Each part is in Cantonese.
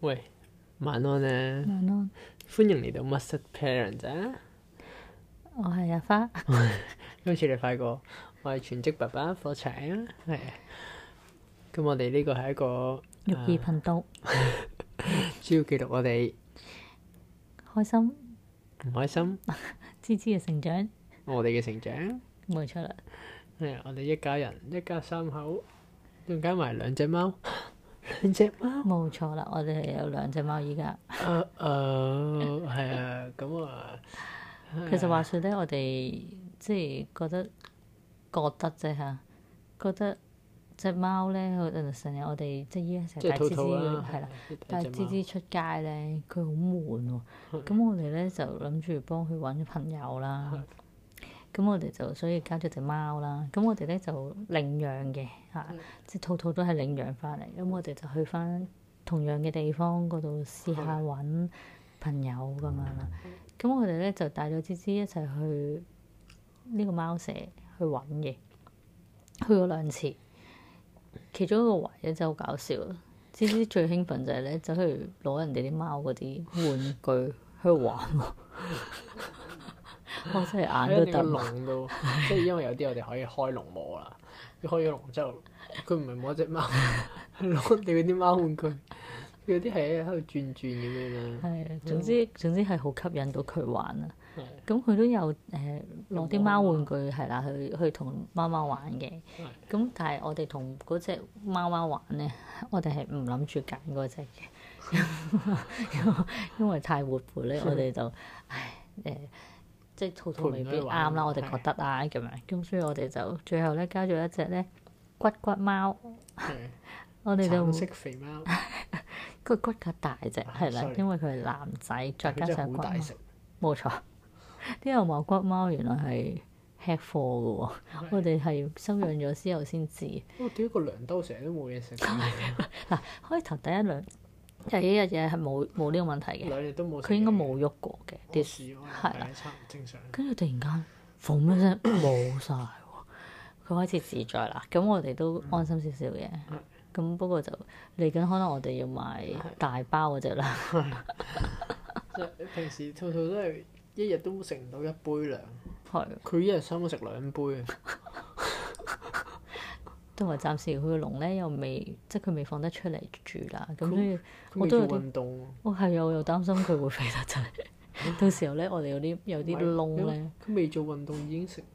喂，晚安咧， 晚安， 歡迎嚟到密室 Parents 啊！ 我係阿花， 今次你快過，我係全職爸爸火柴啊，係。咁我哋呢個係一個育兒頻道， 主要記錄我哋開心唔開心， 芝芝嘅成長， 我哋嘅成長。 冇錯啦。 係我哋一家人，一家三口，仲加埋兩隻貓，兩隻貓。 冇錯啦，我哋係有兩隻貓依家。 係啊，咁啊， 其實話說咧，我哋即係覺得啫嚇，覺得隻貓咧，成日我哋即係依家成日帶芝芝係啦，帶芝芝出街咧，佢好悶喎。咁我哋咧就諗住幫佢揾朋友啦。咁我哋就所以交咗隻貓啦。咁我哋咧就領養嘅嚇，即係兔兔都係領養翻嚟。咁我哋就去翻同樣嘅地方嗰度試下揾朋友咁樣啦。咁我哋咧就帶咗芝芝一齊去呢個貓舍去揾嘅，去過2次。其中一個位咧真係好搞笑啦！芝芝最興奮就係咧走去攞人哋啲貓嗰啲玩具去玩喎。我真係眼都突。 籠度，即係因為有啲我哋可以開籠摸啦。開咗籠之後，佢唔係摸隻貓，係攞你嗰啲貓玩具。有啲係喺度轉轉咁樣啦。 係啊，總之係好吸引到佢玩啊！咁佢都有攞啲貓玩具係啦，去同貓貓玩嘅。咁但係我哋同嗰隻貓貓玩咧，我哋係唔諗住揀嗰隻嘅，因為太活潑咧，我哋就即係兔兔未必啱啦，我哋覺得啊咁樣。咁所以我哋就最後咧加咗一隻咧骨骨貓。我哋就橙色肥貓， 佢骨架大隻係啦，因為佢係男仔，再加上骨毛，冇錯。啲牛毛骨貓原來係吃貨嘅喎，我哋係收養咗之後先知。 我屌個糧兜成日都冇嘢食。 嗱，開頭第一日嘢係冇呢個問題嘅， 2日都冇。 佢應該冇喐過嘅啲樹， 係啦， 正常。 跟住突然間嘣一聲冇晒喎，佢開始自在啦。咁我哋都安心少少嘅。咁不過就嚟緊，可能我哋要買大包嗰隻啦。 即係平時兔兔都係一日都食唔到1杯糧， 係佢一日三餐食2杯啊。 同埋暫時佢個籠咧又未，即係佢未放得出嚟住啦。咁所以我都有啲運動。 係啊，我又擔心佢會肥得滯。到時候咧，我哋有啲窿咧。 佢未做運動已經食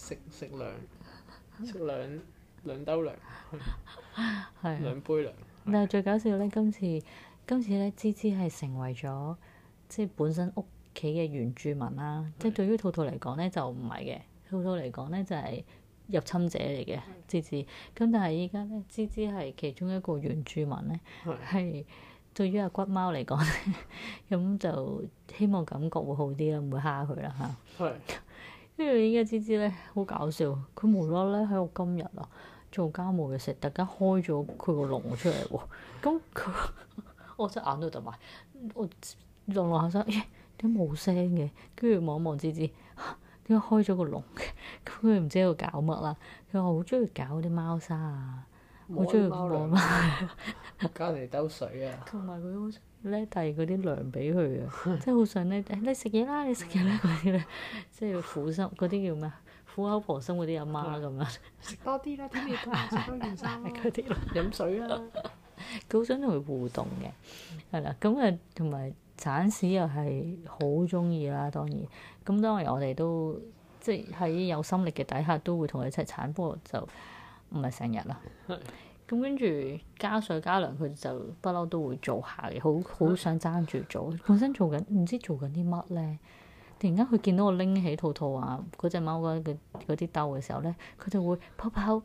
兩兜糧，係2杯糧。 但係最搞笑咧，今次咧，芝芝係成為咗即係本身屋企嘅原住民啦。即係對於兔兔嚟講咧就唔係嘅，兔兔嚟講咧就係入侵者嚟嘅芝芝。咁但係依家咧，芝芝係其中一個原住民咧，係對於阿骨貓嚟講咧，咁就希望感覺會好啲啦，唔會蝦佢啦嚇。跟住依家芝芝咧好搞笑，佢無啦啦喺我今日啊做家務嘅時候，突然間開咗佢個籠出嚟喎。咁佢我真係眼都突埋，我落下身，點解冇聲嘅？跟住望一望芝芝，點解開咗個籠嘅？咁佢唔知喺度搞乜啦。佢話好中意搞啲貓砂啊，好中意摸貓， 加嚟兜水啊。 同埋佢好想咧遞嗰啲糧俾佢啊，即係好想咧你食嘢啦，你食嘢啦嗰啲咧，即係苦心嗰啲叫咩？苦口婆心嗰啲阿媽咁樣， 食多啲啦，天氣凍，食多件衫嗰啲咯，飲水啦。 佢好想同佢互動嘅，係啦。咁啊，同埋鏟屎又係好中意啦，當然。咁當然我哋都即係喺有心力嘅底下都會同佢一齊鏟，不過就唔係成日啦。咁跟住加水加糧，佢就不嬲都會做下嘅，好想爭住做。本身做緊唔知做緊啲乜咧。突然間佢見到我拎起兔兔啊嗰隻貓嗰啲兜嘅時候咧，佢就會跑，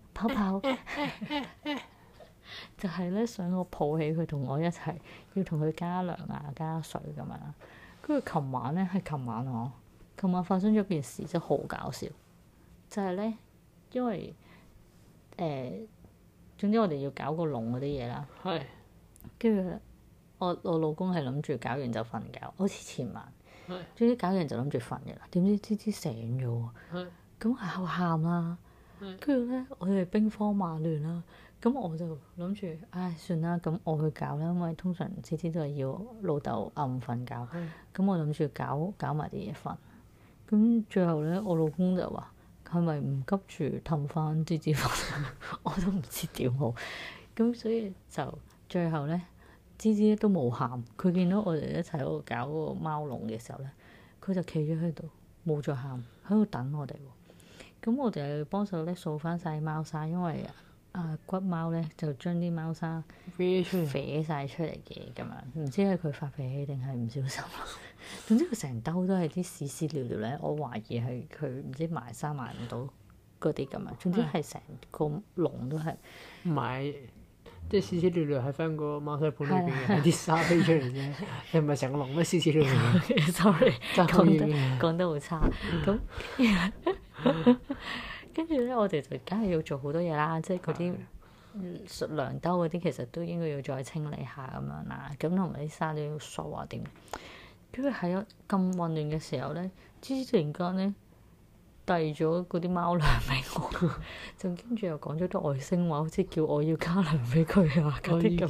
就係咧想我抱起佢同我一齊，要同佢加糧啊加水咁樣。跟住琴晚發生咗件事真係好搞笑，就係咧因為總之我哋要搞個籠嗰啲嘢啦，跟住我老公係諗住搞完就瞓覺，好似前晚。總之搞完就諗住瞓嘅啦，點知芝芝醒咗喎，咁係喊啦， 跟住咧，我哋兵荒馬亂啦。咁我就諗住，唉，算啦，咁我去搞啦，因為通常次次都係要老豆暗瞓覺。咁我諗住搞埋啲嘢瞓。咁最後咧，我老公就話：係咪唔急住氹翻芝芝瞓？我都唔知點好。咁所以就最後咧，芝芝都冇喊。佢見到我哋一齊喺度搞嗰個貓籠嘅時候咧，佢就企咗喺度，冇再喊，喺度等我哋喎。咁我哋又幫手咧掃翻晒貓砂，因為骨貓咧就將啲貓砂飛出嚟， 飛晒出嚟嘅咁樣，唔知係佢發脾氣定係唔小心。總之佢成兜都係啲屎屎尿尿咧，我懷疑係佢唔知埋沙埋唔到嗰啲咁樣。總之係成個籠都係。 唔係，即係屎屎尿尿喺翻個貓砂盤裏邊嘅，係啲沙飛出嚟啫。你唔係成個籠咩屎屎尿尿 ？Sorry， 爭好講得好差。咁跟住咧，我哋就梗係要做好多嘢啦，即係嗰啲糧兜嗰啲，其實都應該要再清理下咁樣啦。咁同埋啲沙都要掃啊點。跟住喺咁混亂嘅時候咧，芝芝突然間咧遞咗嗰啲貓糧俾我，就跟住又講咗啲外星話，好似叫我要加糧俾佢啊嗰啲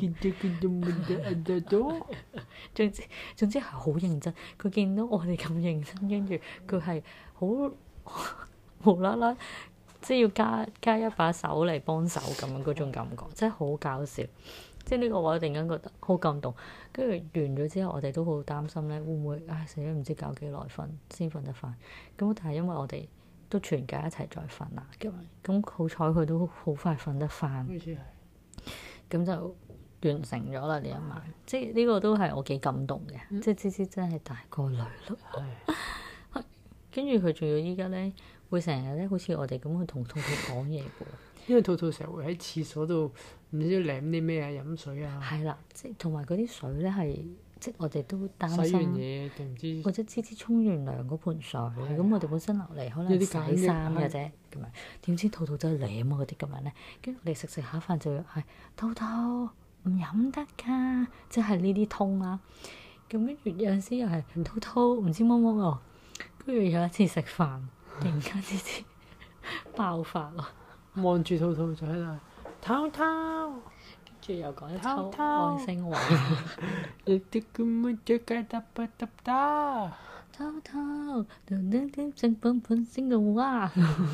咁。總之係好認真。佢見到我哋咁認真，跟住佢係好無啦啦，即係要加一把手嚟幫手咁樣嗰種感覺，真係好搞笑。即係呢個我突然間覺得好感動。跟住完咗之後，我哋都好擔心咧，會唔會死咗唔知搞幾耐瞓先瞓得翻。咁但係因為我哋都全家一齊再瞓啦，咁好彩佢都好快瞓得翻。 好似係。 咁就完成咗啦呢一晚。即係呢個都係我幾感動嘅。即係芝芝真係大個女咯。跟住佢仲要依家咧，會成日咧好似我哋咁去同兔兔講嘢嘅喎。 因為兔兔成日會喺廁所度唔知舐啲咩啊，飲水啊。 係啦，即係同埋嗰啲水咧係，即係我哋都擔心。 洗完嘢定唔知？ 或者芝芝沖完涼嗰盆水，咁我哋本身落嚟可能洗衫嘅啫，咁樣點知兔兔真係舐啊嗰啲咁樣咧，跟住我哋食下飯就要係兔兔唔飲得㗎，即係呢啲通啦。咁跟住有陣時又係兔兔唔知乜乜喎，跟住有一次食飯，突然間芝芝爆發喎。 望住兔兔就喺度，兔兔， 跟住又講一抽外星話， 你啲咁嘅隻雞得不得得？ 兔兔，點點正本本先嘅話，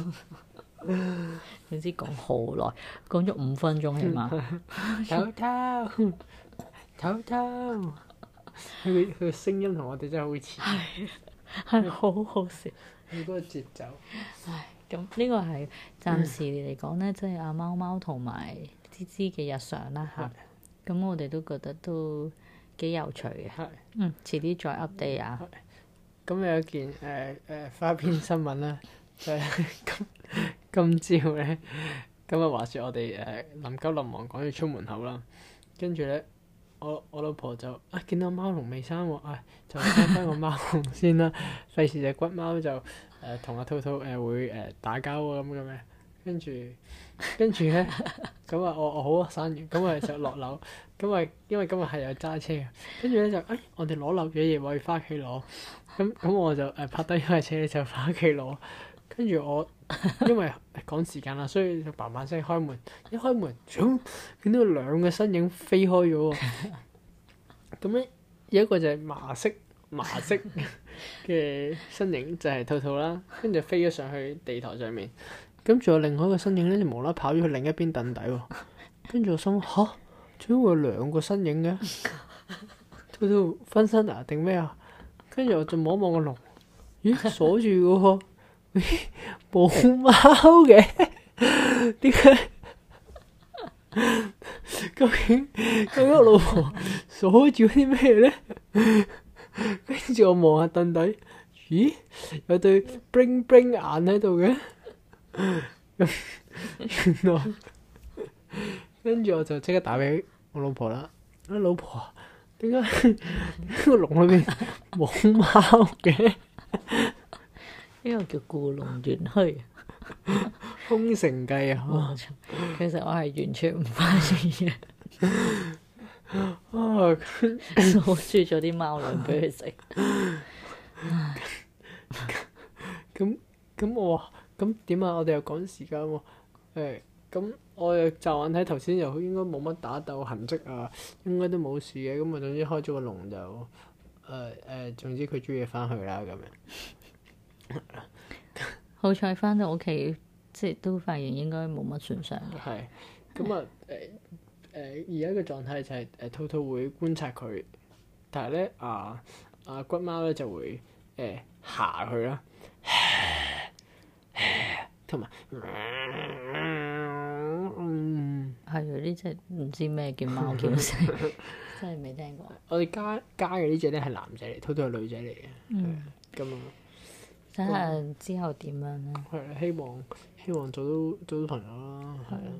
總之講好耐，講咗5分鐘起碼。 兔兔，兔兔，佢嘅聲音同我哋真係好似， 係好好笑。 佢嗰個節奏。 唉，咁呢個係暫時嚟講咧，即係阿貓貓同埋芝芝嘅日常啦嚇。咁我哋都覺得都幾有趣嘅。遲啲再 update 啊。 咁有一件花邊新聞啦，就係今朝咧，咁啊話説我哋臨急臨忙趕住出門口啦，跟住咧我老婆就見到貓籠未生喎，就開翻個貓籠先啦，費事隻骨貓就同阿兔兔會打交啊咁嘅咩，跟住咧咁啊我好啊生完，咁啊就落樓，咁啊因為今日係有揸車嘅，跟住咧就我哋攞漏咗嘢，我要翻屋企攞，咁我就泊低咗架車就翻屋企攞，跟住我因為趕時間啦，所以就嘭嘭聲開門，一開門，見到2個身影飛開咗喎，咁咧有一個就係麻色嘅身影就係兔兔啦，跟住飛咗上去地台上面，咁仲有另外一個身影咧就無啦啦跑咗去另一邊凳底喎，跟住我心嚇，點會有2個身影嘅？兔兔分身啊定咩啊？跟住我就望一望個籠，咦鎖住嘅喎，咦冇貓嘅，點解？究竟我老婆鎖住啲咩咧？跟住我望下凳底，咦有對 bling bling 眼喺度嘅，原來跟住我就即刻打俾我老婆啦。老婆，點解個籠裏邊冇貓嘅？ 呢個叫故弄玄虛。 空城計啊！ 其實我係完全唔關事嘅。鎖住咗啲貓糧俾佢食。 咁我話咁點啊？我哋又趕時間喎。咁我又驟眼睇頭先又應該冇乜打鬥痕跡啊，應該都冇事嘅。咁啊，總之開咗個籠就總之佢中意翻去啦咁樣。 好彩翻到屋企，即係都發現應該冇乜損傷嘅。 係。咁啊而家嘅狀態就係兔兔會觀察佢，但係咧骨貓咧就會嚇佢啦，同埋係啊！呢隻唔知咩叫貓叫聲，真係未聽過。 我哋加嘅呢只咧係男仔嚟，兔兔係女仔嚟嘅。咁啊， 睇下之後點樣咧？ 係啦，希望做到朋友啦，係啊。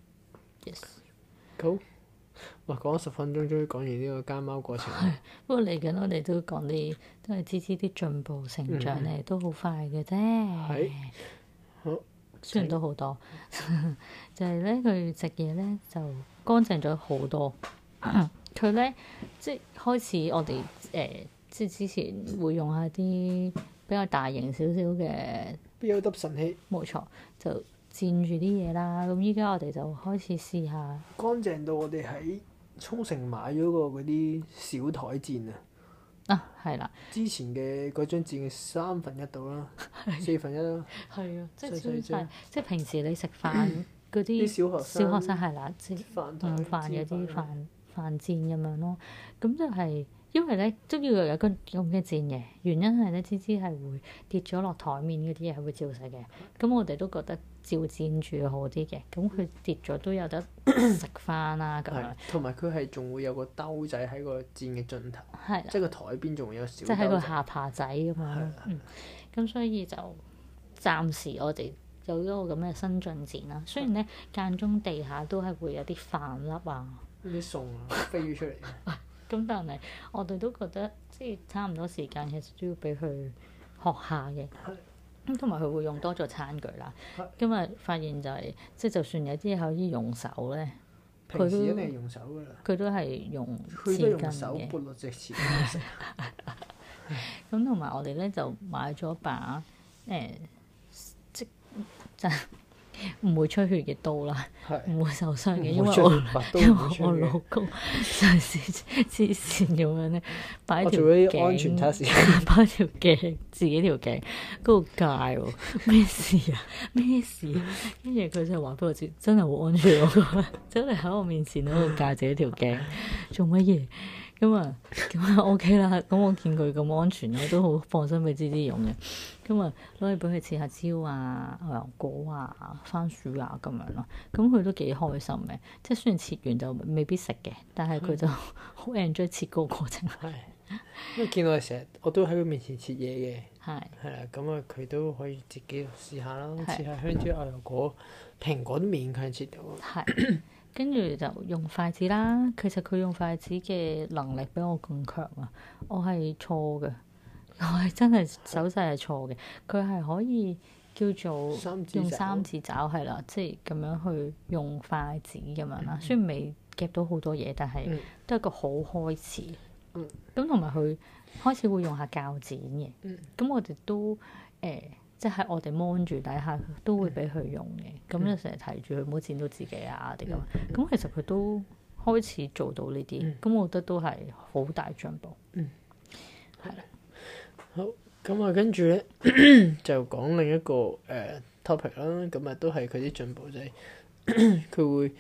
Yes。 好，哇！講咗10分鐘，終於講完呢個家貓過程。 不過嚟緊我哋都講啲都係芝芝啲進步成長咧，都好快嘅啫。 係。好。 雖然都好多，就係咧佢食嘢咧就乾淨咗好多。佢咧即係開始我哋即係之前會用下啲比較大型少少嘅 build up 神器， 冇錯，就墊住啲嘢啦。咁依家我哋就開始試下乾淨到我哋喺沖繩買咗個嗰啲小台墊啊！ 係啦， 之前嘅嗰張墊嘅1/3到啦，1/4啦。 係啊，即係細細張即係平時你食飯嗰啲啲小學生係啦，即係飯台午飯嗰啲飯飯墊咁樣咯。咁就係因為咧都要有個咁嘅墊嘅，原因係咧芝芝係會跌咗落台面嗰啲嘢係會照食嘅。咁我哋都覺得照墊住好啲嘅。咁佢跌咗都有得食翻啦咁樣。 同埋佢係仲會有個兜仔喺個墊嘅盡頭， 係啦， 即係個台邊仲會有小即係喺個兜仔。 下巴仔咁樣。咁所以就暫時我哋有咗個咁嘅新進展啦。雖然咧間中地下都係會有啲飯粒啊， 啲餸啊飛咗出嚟。 咁但係我哋都覺得即係差唔多時間，其實都要俾佢學下嘅。咁同埋佢會用多咗餐具啦。今日發現就係即係就算有啲嘢可以用手咧， 平時一定係用手㗎啦。 佢都係用佢都匙羹用手嘅。 撥落隻匙羹食。 咁同埋我哋咧就買咗把即就唔會出血嘅刀啦，唔會受傷嘅，因為我老公上次黐線咁樣咧，擺條我做咗啲安全測試， 擺條頸自己條頸嗰度戒喎，咩事啊？咩事啊？跟住佢就話俾我知，真係好安全喎，真係喺我面前喺度戒自己條頸，做乜嘢？咁啊 OK 啦，咁我見佢咁安全，我都好放心俾芝芝用嘅。咁啊攞嚟俾佢切下蕉啊、牛油果啊、番薯啊咁樣咯。咁佢都幾開心嘅，即係雖然切完就未必食嘅，但係佢就好 enjoy 切嗰個過程。 係，因為見到佢成日我都喺佢面前切嘢嘅。 係啦，咁啊佢都可以自己試下啦，切下香蕉、牛油果、蘋果都勉強切到。 係。跟住就用筷子啦，其實佢用筷子嘅能力比我更強啊！我係錯嘅，我係真係手勢係錯嘅。佢係可以叫做用三指爪係啦，即係咁樣去用筷子咁樣啦。雖然未夾到好多嘢，但係都係一個好開始。咁同埋佢開始會用下鉸剪嘅。咁我哋都即係我哋 mon 住底下都會俾佢用嘅，咁就成日提住佢唔好剪到自己啊啲咁。咁其實佢都開始做到呢啲，咁我覺得都係好大進步。係啦。 好，咁啊跟住咧就講另一個topic 啦，咁啊都係佢啲進步就係佢會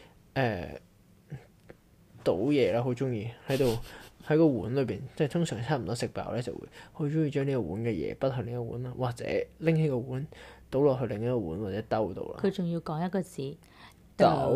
倒嘢啦，好中意喺個碗裏邊，即係通常差唔多食飽咧，就會好中意將呢個碗嘅嘢擺去另一個碗啦，或者拎起個碗倒落去另一個碗或者兜度啦。 佢仲要講一個字倒，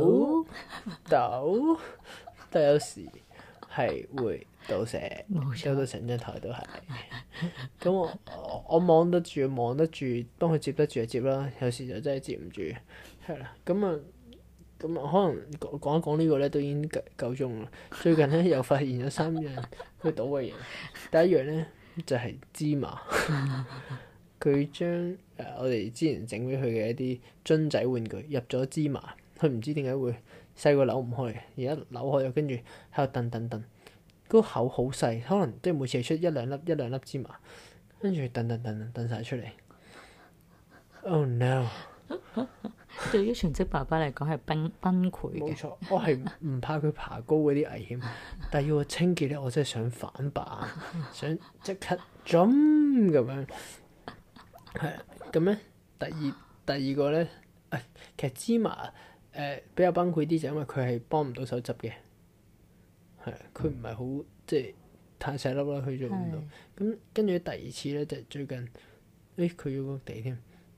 但有時係會倒瀉，倒到成張台都係。咁我望得住，幫佢接得住就接啦。有時就真係接唔住，係啦。咁啊，可能講一講呢個咧，都已經夠鐘啦。最近咧又發現咗3樣佢倒嘅嘢。第一樣咧就係芝麻，佢將我哋之前整俾佢嘅一啲樽仔玩具入咗芝麻，佢唔知點解會細個扭唔開嘅，而家扭開咗，跟住喺度燉，嗰個口好細，可能即係每次係出一兩粒芝麻，跟住燉晒出嚟。 Oh no！ 對於全職爸爸嚟講係崩潰嘅。 冇錯，我係唔怕佢爬高嗰啲危險，但係要我清潔咧，我真係想反白，想即刻 jump 咁樣。係啊，咁咧第二個咧，其實芝麻比較崩潰啲，就因為佢係幫唔到手執嘅，係佢唔係好即係太細粒啦，佢做唔到。咁跟住第二次咧，就係最近，佢要個地添，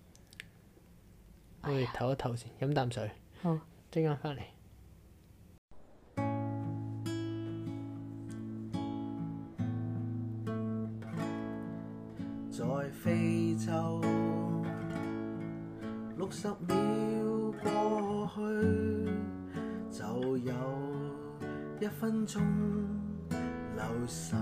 我哋唞一唞先，飲啖水。 好， 陣間翻嚟。 在非洲60秒過去，就有1分鐘流逝。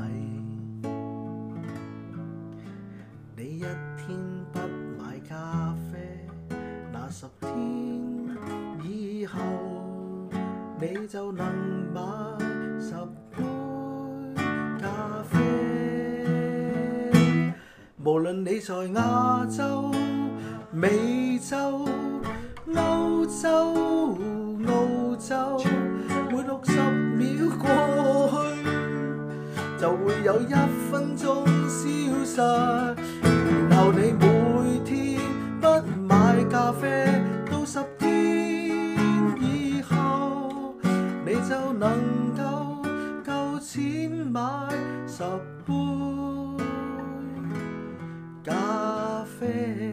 你一天不買咖啡，那10天以後，你就能買10杯咖啡。無論你在亞洲、美洲、歐洲、澳洲，每60秒過去，就會有1分鐘消失。然後你每天不買咖啡，到10天以後，你就能夠錢買10杯咖啡。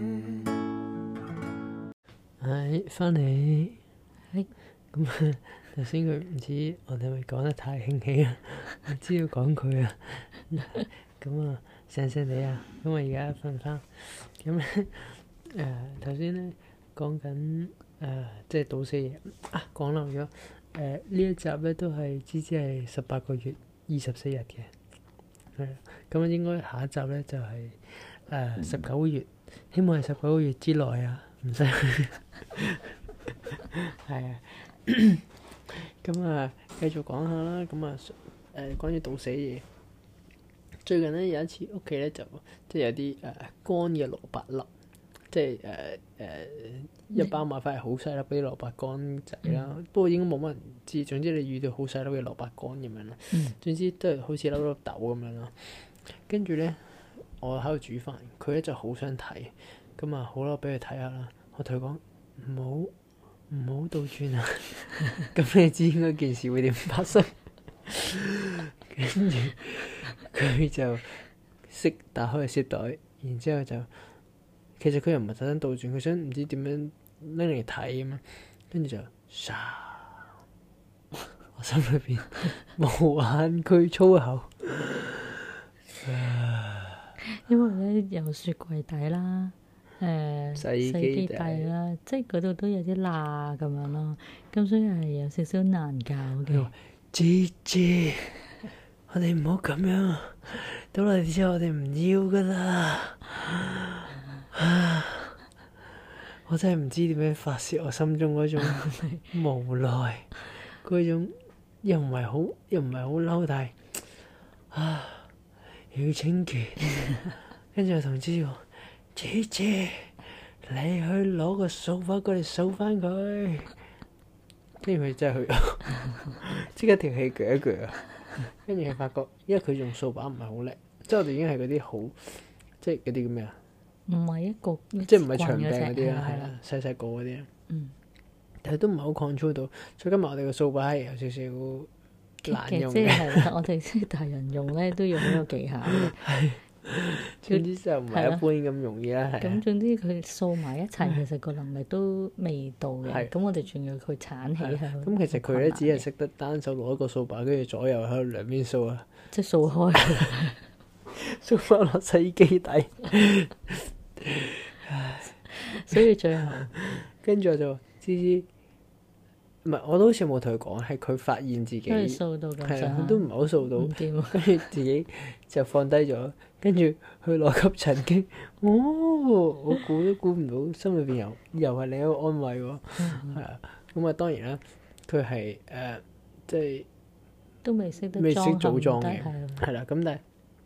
翻嚟。 係咁頭先佢唔知我哋咪講得太興起啊，唔知要講佢啊。咁啊，醒醒地啊，咁我而家瞓翻。咁咧頭先咧講緊即係賭死嘢啊，講漏咗呢一集咧都係芝芝係18個月24日嘅，係咁應該下一集咧就係19個月，希望係19個月之內啊，唔使係啊。咁啊，繼續講下啦。咁啊關於賭死嘢，最近咧有一次屋企咧就即係有啲乾嘅蘿蔔粒，即係一包買翻嚟好細粒嗰啲蘿蔔乾仔啦。不過應該冇乜人知，總之你遇到好細粒嘅蘿蔔乾咁樣啦。總之都係好似粒粒豆咁樣啦。跟住咧，我喺度煮飯，佢咧就好想睇，咁啊好啦，俾佢睇下啦。我同佢講唔好倒轉啊！咁你知應該件事會點發生？跟住佢就識打開個攝袋，然之後就其實佢又唔係特登倒轉，佢想唔知點樣拎嚟睇咁樣，跟住就沙，我心裏邊無限句粗口。 因為咧有雪櫃底啦， 洗洗機底啦，即係嗰度都有啲罅咁樣咯，咁所以係有少少難搞嘅。 姐姐，我哋唔好咁樣，倒嚟之後我哋唔要噶啦。我真係唔知點樣發泄我心中嗰種無奈，嗰種又唔係好嬲，但係要清潔。跟住我同芝講：姐姐，你去攞個掃把過嚟掃翻佢。跟住佢真係去，即刻條氣鋸一鋸啊！跟住佢發覺，因為佢用掃把唔係好叻，即係我哋已經係嗰啲好，即係嗰啲叫咩啊？ 唔係一個， 即係唔係長柄嗰啲啦， 係係啦，細細個嗰啲。 嗯。 但係都唔係好 control 到，所以今日我哋個掃把係有少少難用即嘅。 係啦，我哋即係大人用咧都要好有技巧嘅。 總之就唔係一般咁容易啦，係咁總之佢掃埋一齊，其實個能力都未到嘅。 係咁我哋仲要佢鏟起係。 咁其實佢咧只係識得單手攞一個掃把，跟住左右喺度兩邊掃啊， 即係掃開， 掃翻落洗衣機底。 所以最後跟住我就話芝芝，唔係我都好似冇同佢講，係佢發現自己因為掃到咁係啊， 上下佢都唔係好掃到唔，掂啊。 跟住自己就放低咗，跟住去攞吸塵機。我估都估唔到，心裏邊又係另一個安慰喎。係啊，咁啊當然啦，佢係即係都未識得未識裝組裝嘅， 係係啦。咁但係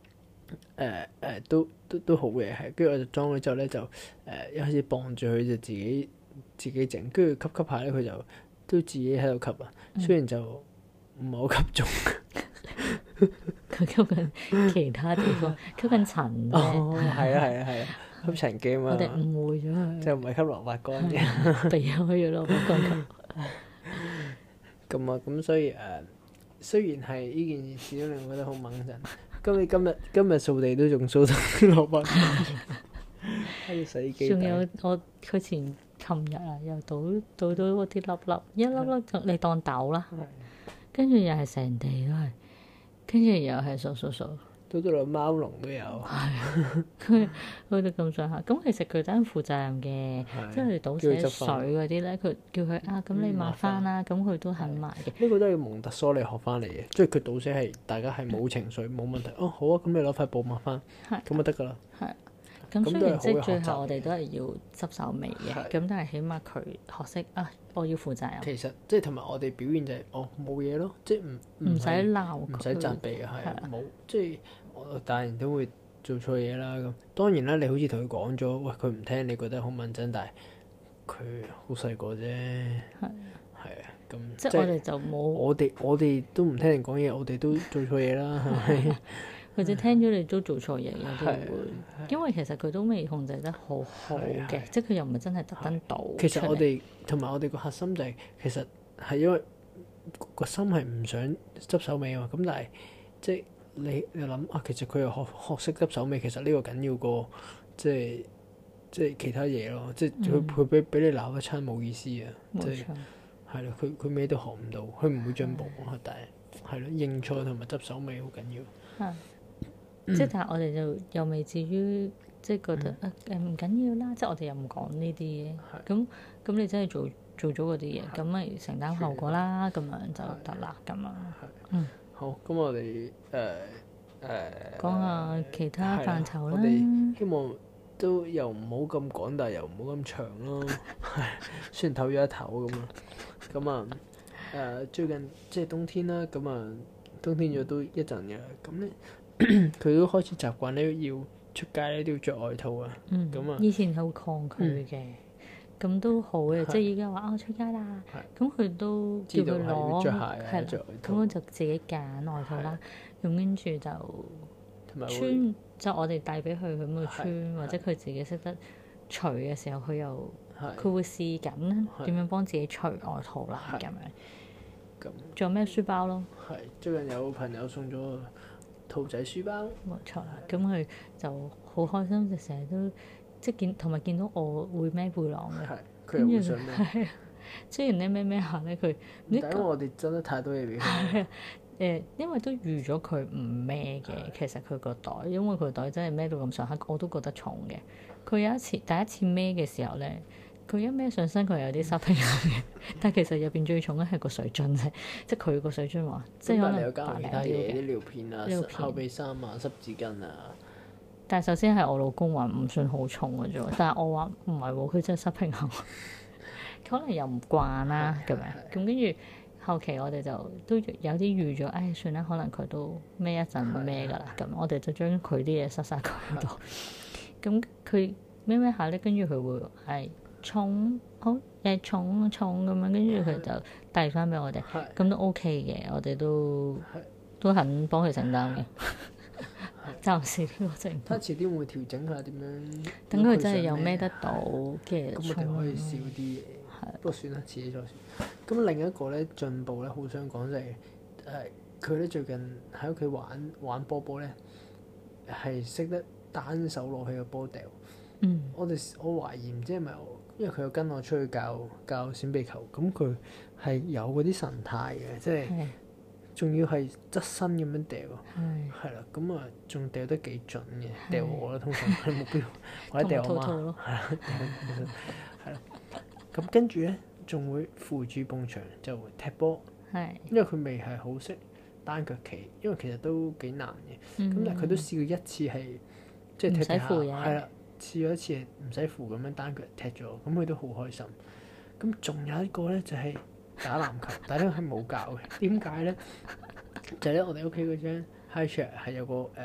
都好嘅，係。跟住我就裝咗之後咧，就一開始綁住佢就自己整，跟住吸下咧佢就都自己喺度吸啊。雖然就唔係好吸中， 佢吸緊其他地方，吸緊塵啫。 哦，係啊，吸塵機啊嘛， 我哋誤會咗佢， 就唔係吸蘿蔔乾嘅。 避開咗蘿蔔乾咁。 咁啊，咁所以雖然係呢件事都令我覺得好掹陣，今日掃地都仲掃到啲蘿蔔乾，喺洗衣機底。 仲有佢琴日啊，又倒到嗰啲粒粒，一粒粒就你當豆啦，跟住又係成地都係，跟住又係掃， 倒到落貓籠都有。 佢去到咁上下，咁其實佢真係負責任嘅，即係你倒瀉水嗰啲咧，佢叫佢啊，咁你抹翻啦，咁佢都肯抹嘅。 呢個都係蒙特梭利學翻嚟嘅，即係佢倒瀉係大家係冇情緒冇問題。哦，好啊，咁你攞塊布抹翻，咁就得㗎啦。 係。咁雖然即係最後我哋都係要執手尾嘅，咁但係起碼佢學識啊，我要負責任。 其實即係同埋我哋表現就係冇嘢咯，即係唔使鬧佢， 唔使責備嘅，係冇即係我大人都會做錯嘢啦。咁當然啦，你好似同佢講咗，喂佢唔聽，你覺得好問真，但係佢好細個啫，係啊，咁即係我哋就冇我哋都唔聽人講嘢，我哋都做錯嘢啦，係咪？ 或者聽咗你都做錯嘢，有啲會，因為其實佢都未控制得好好嘅，即係佢又唔係真係特登倒。 其實我哋同埋我哋個核心就係其實係因為個心係唔想執手尾啊嘛，咁但係即係你諗啊，其實佢又學識執手尾，其實呢個緊要過即係其他嘢咯，即係佢俾你鬧一餐冇意思啊，即係係咯，佢咩都學唔到，佢唔會進步，但係咯，認錯同埋執手尾好緊要。 即係但係我哋就又未至於即係覺得唔緊要啦，即係我哋又唔講呢啲嘢。咁你真係做咗嗰啲嘢，咁咪承擔後果啦，咁樣就得啦，咁樣。 好，咁我哋講下其他範疇啦。 我哋希望都又唔好咁趕，但係又唔好咁長咯。雖然唞咗一唞咁啊。咁啊最近即係冬天啦，咁啊冬天咗都一陣嘅，咁咧。佢都開始習慣咧，要出街咧都要着外套啊。咁啊， 以前好抗拒嘅，咁都好嘅。即係依家話出街啦，咁佢都叫佢攞，係啦，咁我就自己揀外套啦。咁跟住就穿，就我哋帶俾佢，佢咁去穿，或者佢自己識得除嘅時候，佢會試緊點樣幫自己除外套啦。咁樣。咁仲有咩書包咯？ 係最近有朋友送咗兔仔書包， 冇錯啦。咁佢就好開心，就成日都即係同埋見到我會孭背囊嘅， 佢又會想孭。 雖然咧孭下咧，佢因為我哋真係太多嘢俾佢。 因為都預咗佢唔孭嘅，其實佢個袋，因為佢個袋真係孭到咁上下，我都覺得重嘅。佢有一次第一次孭嘅時候咧，佢一孭上身，佢有啲失平衡嘅。但係其實入邊最重咧係個水樽啫，即係佢個水樽話，即係可能有加其他嘢，啲尿片啊、後備衫啊、濕紙巾啊。 但係首先係我老公話唔算好重嘅啫，但係我話唔係喎，佢真係失平衡，可能又唔慣啦咁樣。咁跟住後期我哋就都有啲預咗，唉算啦，可能佢都孭一陣孭㗎啦。咁我哋就將佢啲嘢塞晒佢度。咁佢孭下咧，跟住佢會係重好重咁樣，跟住佢就遞翻俾我哋，咁都 OK 嘅，我哋都肯幫佢承擔嘅。暫時呢個情況。 睇遲啲會調整下點樣。 等佢真係有孭得到嘅。 咁我哋可以少啲嘢。不過算啦，遲啲再算。咁另一個咧進步咧，好想講就係佢咧最近喺屋企玩波波咧，係識得單手攞起個波掉。我懷疑唔知係咪因為佢有跟我出去教閃避球，咁佢係有嗰啲神態嘅，即係仲要係側身咁樣掉，係啦，咁啊仲掉得幾準嘅，掉我啦，通常係目標或者掉我媽，係啦，咁跟住咧仲會扶住埲牆就踢波，因為佢未係好識單腳企，因為其實都幾難嘅，咁但係佢都試過一次係即係踢下，係啦。試咗一次唔使扶咁樣單腳踢咗，咁佢都好開心。咁仲有一個咧就係打籃球，但係呢個係冇教嘅。點解咧？就係咧我哋屋企嗰張 high chair 係有個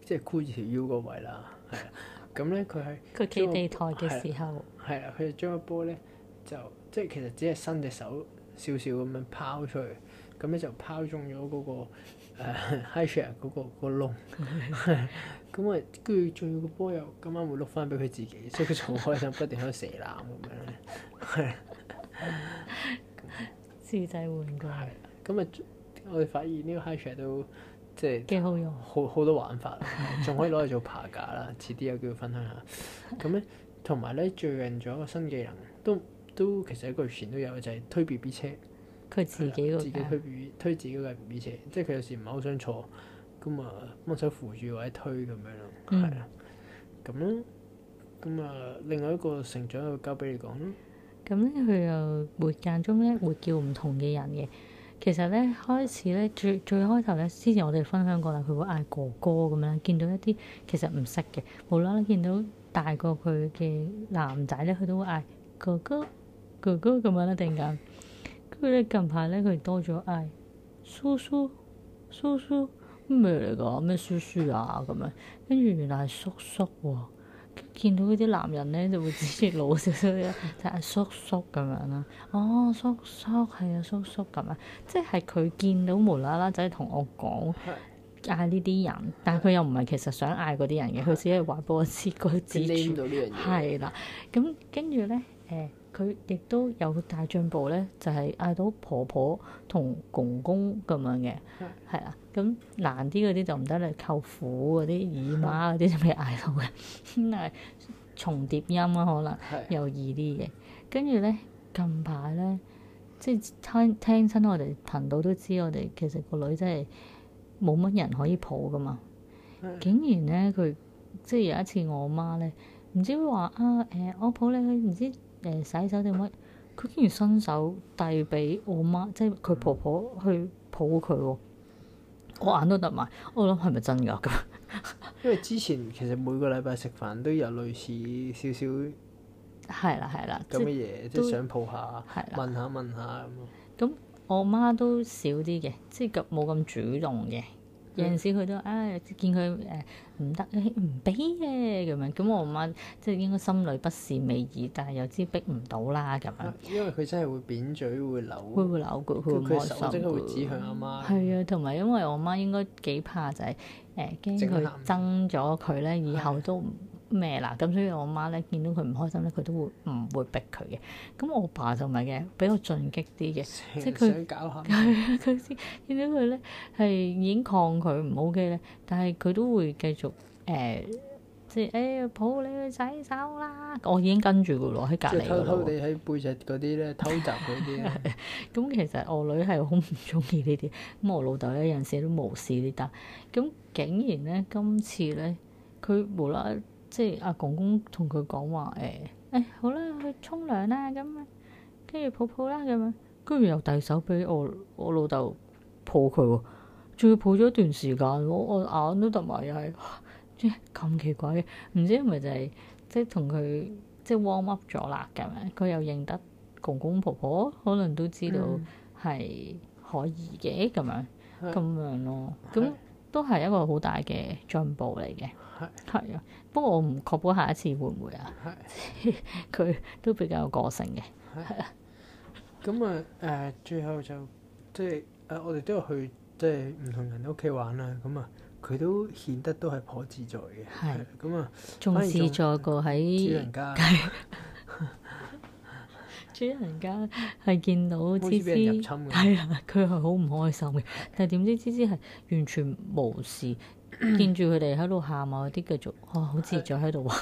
即係箍住條腰嗰位啦，係啊。咁咧佢係佢企地台嘅時候， 係啦，佢就將個波咧就即係其實只係伸隻手少少咁樣拋出去，咁咧就拋中咗嗰、個high chair 嗰個窿，咁啊跟住仲要個波又今晚會碌翻俾佢自己，所以佢就好開心，不斷喺度射籃咁樣咧， 自製玩具係咁啊！我哋發現呢個 high chair 都即係幾好用。 好多玩法，仲可以攞嚟做爬架啦。遲啲有機會分享下。咁咧，同埋咧最近仲有一個新技能，都其實一個月前都有，就係、推 B B 車。 佢自己嗰自己架推自己嗰架 B B 車，即係佢有時唔係好想坐，咁啊幫手扶住或者推咁樣咯，係啊，咁咯，咁啊另外一個成長就交俾你講咯。 咁咧，佢又會間中咧會叫唔同嘅人嘅。其實咧開始咧最開頭咧，之前我哋分享過啦，佢會嗌哥哥咁樣，見到一啲其實唔識嘅，無啦啦見到大過佢嘅男仔咧，佢都會嗌哥哥哥哥咁樣啦，突然間。跟住咧近排咧佢多咗嗌叔叔叔叔咩嚟㗎？咩叔叔啊咁樣，跟住原來係叔叔喎。見到嗰啲男人咧就會指住老少少嘅，就係叔叔咁樣啦。哦，叔叔係啊，叔叔咁樣，即係佢見到無啦啦仔同我講嗌呢啲人，但係佢又唔係其實想嗌嗰啲人嘅，佢只係話俾我知佢指住。 到呢樣嘢係啦，咁跟住咧佢亦都有大進步咧，就係、嗌到婆婆同公公咁樣嘅，係啦。咁難啲嗰啲就唔得啦，舅父嗰啲姨媽嗰啲就未嗌到嘅，咁但係重疊音啊，可能又易啲嘅。跟住咧近排咧，即係聽親我哋頻道都知，我哋其實個女真係冇乜人可以抱噶嘛。竟然咧佢即係有一次我媽咧，唔知話我抱你去唔知洗手定乜，佢竟然伸手遞俾我媽，即係佢婆婆去抱佢喎。我眼都突埋，我諗係咪真㗎咁？ 因為之前其實每個禮拜食飯都有類似少少係啦， 咁嘅嘢，即係想抱下， 係啦問下咁咯。 咁我媽都少啲嘅，即係冇咁主動嘅。有陣時佢都見佢唔得，唔俾嘅咁樣。咁我媽即係應該心裏不是味意，但係又知逼唔到啦咁樣。 因為佢真係會扁嘴，會扭， 會扭佢，佢唔開心手即刻會指向阿媽。 係啊，同埋因為我媽應該幾怕就係驚佢憎咗佢咧，以後都咩啦。咁所以我媽咧見到佢唔開心咧，佢都會唔會逼佢嘅。咁我爸就唔係嘅，比較進擊啲嘅，即係佢想搞下。 佢先見到佢咧係已經抗拒唔 OK 咧，但係佢都會繼續即係抱你去洗手啦！我已經跟住佢咯，喺隔離嗰度。 偷偷地喺背脊嗰啲咧偷襲嗰啲咧。 咁其實我女係好唔中意呢啲，咁我老豆咧有陣時都無視呢單。咁竟然咧今次咧，佢無啦啦即係阿公公同佢講話好啦，去沖涼啦咁樣，跟住抱抱啦咁樣，跟住又遞手俾我老豆抱佢喎，仲要抱咗一段時間，我眼都突埋又係。咁奇怪嘅，唔知係咪就係即係同佢即係 warm up 咗啦咁樣，佢又認得公公婆婆，可能都知道係可以嘅咁樣咯。咁都係一個好大嘅進步嚟嘅。係啊，不過我唔確保下一次會唔會啊？佢都比較有個性嘅。係啊。 咁最後就即係我哋都有去即係唔同人屋企玩啦。咁啊。佢都顯得都係頗自在嘅，係咁啊， 仲自在過喺主人家。 主人家係見到芝芝係啦，佢係好唔開心嘅。但係點知芝芝係完全無視，見住佢哋喺度喊啊，啲繼續好自在喺度玩。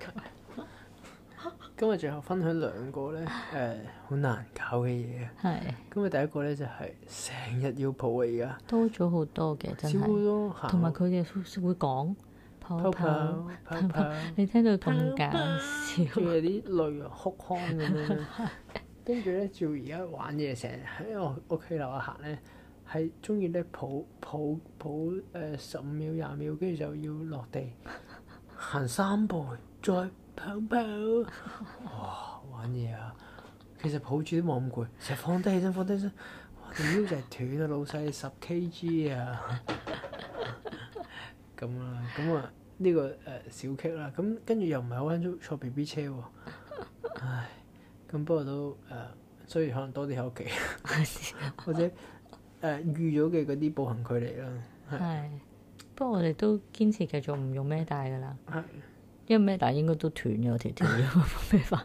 今日最後分享兩個咧好難搞嘅嘢。係。咁啊，第一個咧就係成日要抱啊，而家多咗好多嘅，真係。同埋佢哋會講泡泡，你聽到咁搞笑。 仲有啲淚哭腔咁樣。跟住咧，照而家玩嘢，成日喺我屋企樓下行咧，係中意咧抱15秒20秒，跟住就要落地行3步，再跑跑，哇！玩嘢啊！其實抱住都冇咁攰，成日放低起身，哇！條腰就係斷啊，老細10 kg 啊！ 咁啦，咁啊呢個小劇啦，咁跟住又唔係好想坐 B B 車喎，唉，咁不過都所以可能多啲喺屋企，或者預咗嘅嗰啲步行距離啦， 係。不過我哋都堅持繼續唔用孭帶㗎啦， 係因為孭帶應該都斷咗條條嘅咩法。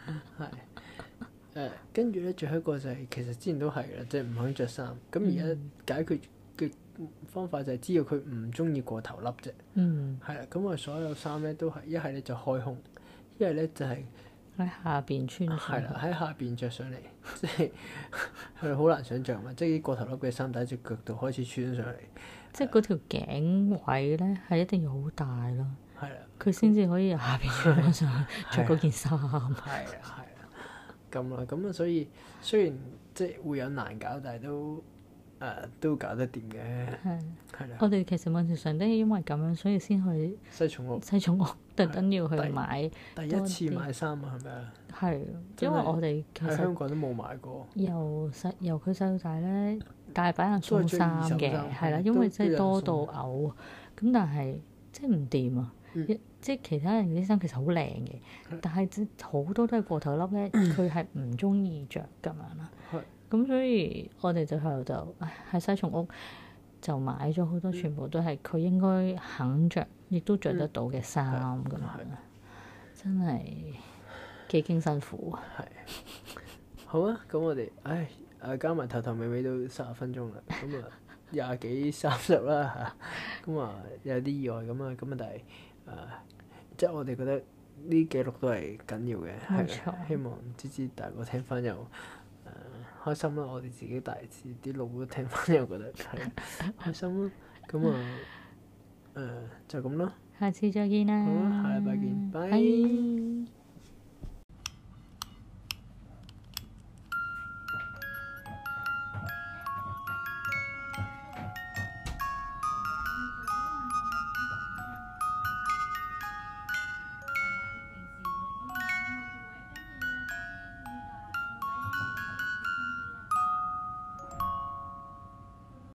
係跟住咧，最後一個就係、其實之前都係啦，即係唔肯着衫。咁而家解決嘅方法就係知道佢唔中意過頭笠啫。 嗯， 係啦，咁我所有衫咧都係一係咧就開胸，一係咧就係喺下邊穿上。 係啦喺下邊着上嚟，即係係好難想像嘛。即係啲過頭笠嘅衫喺隻腳度開始穿上嚟， 即係嗰條頸位咧係一定要好大咯， 係啦， 佢先至可以由下邊穿翻上去着嗰件衫。 係啦，咁啦，咁啊，所以雖然即係會有難搞，但係都搞得掂嘅， 係係啦。 我哋其實某程度上都係因為咁樣，所以先去西重屋西重屋特登要去買。 第一次買衫啊，係咪啊？ 係， 真係因為我哋其實喺香港都冇買過， 由佢細到大咧，大把人送衫都係追嘅， 二手衫係啦， 係因為真係多都有人到嘔。咁但係即係唔掂啊！即係其他人啲衫其實好靚嘅，但係即好多都係過頭笠咧，佢係唔中意着咁樣啦。咁所以我哋最後就喺西松屋就買咗好多，全部都係佢應該肯着，亦都着得到嘅衫咁樣。真係幾經辛苦啊！ 係好啊，咁我哋加埋頭頭尾尾都30分鐘啦，咁啊20幾30啦嚇，咁啊有啲意外咁啊，咁啊但係即係我哋覺得呢記錄都係緊要嘅，係希望芝芝大個聽翻又開心啦，我哋自己大致啲老都聽翻又覺得係開心啦，咁就咁咯， 下次再見啦！ 好啊，下禮拜見，拜。 拜。